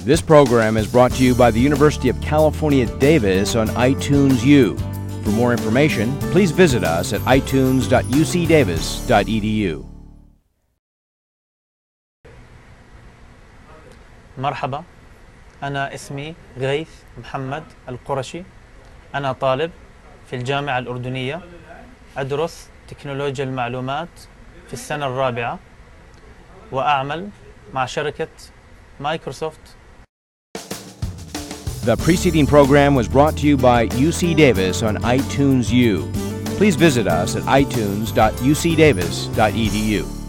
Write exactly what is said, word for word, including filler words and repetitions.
This program is brought to you by the University of California, Davis on iTunes U. For more information, please visit us at i tunes dot u c davis dot e d u. مرحبا، أنا اسمي غيث محمد القرشي. أنا طالب في الجامعة الأردنية، أدرس تكنولوجيا المعلومات في السنة الرابعة، وأعمل مع شركة مايكروسوفت. The preceding program was brought to you by U C Davis on iTunes U. Please visit us at i tunes dot u c davis dot e d u.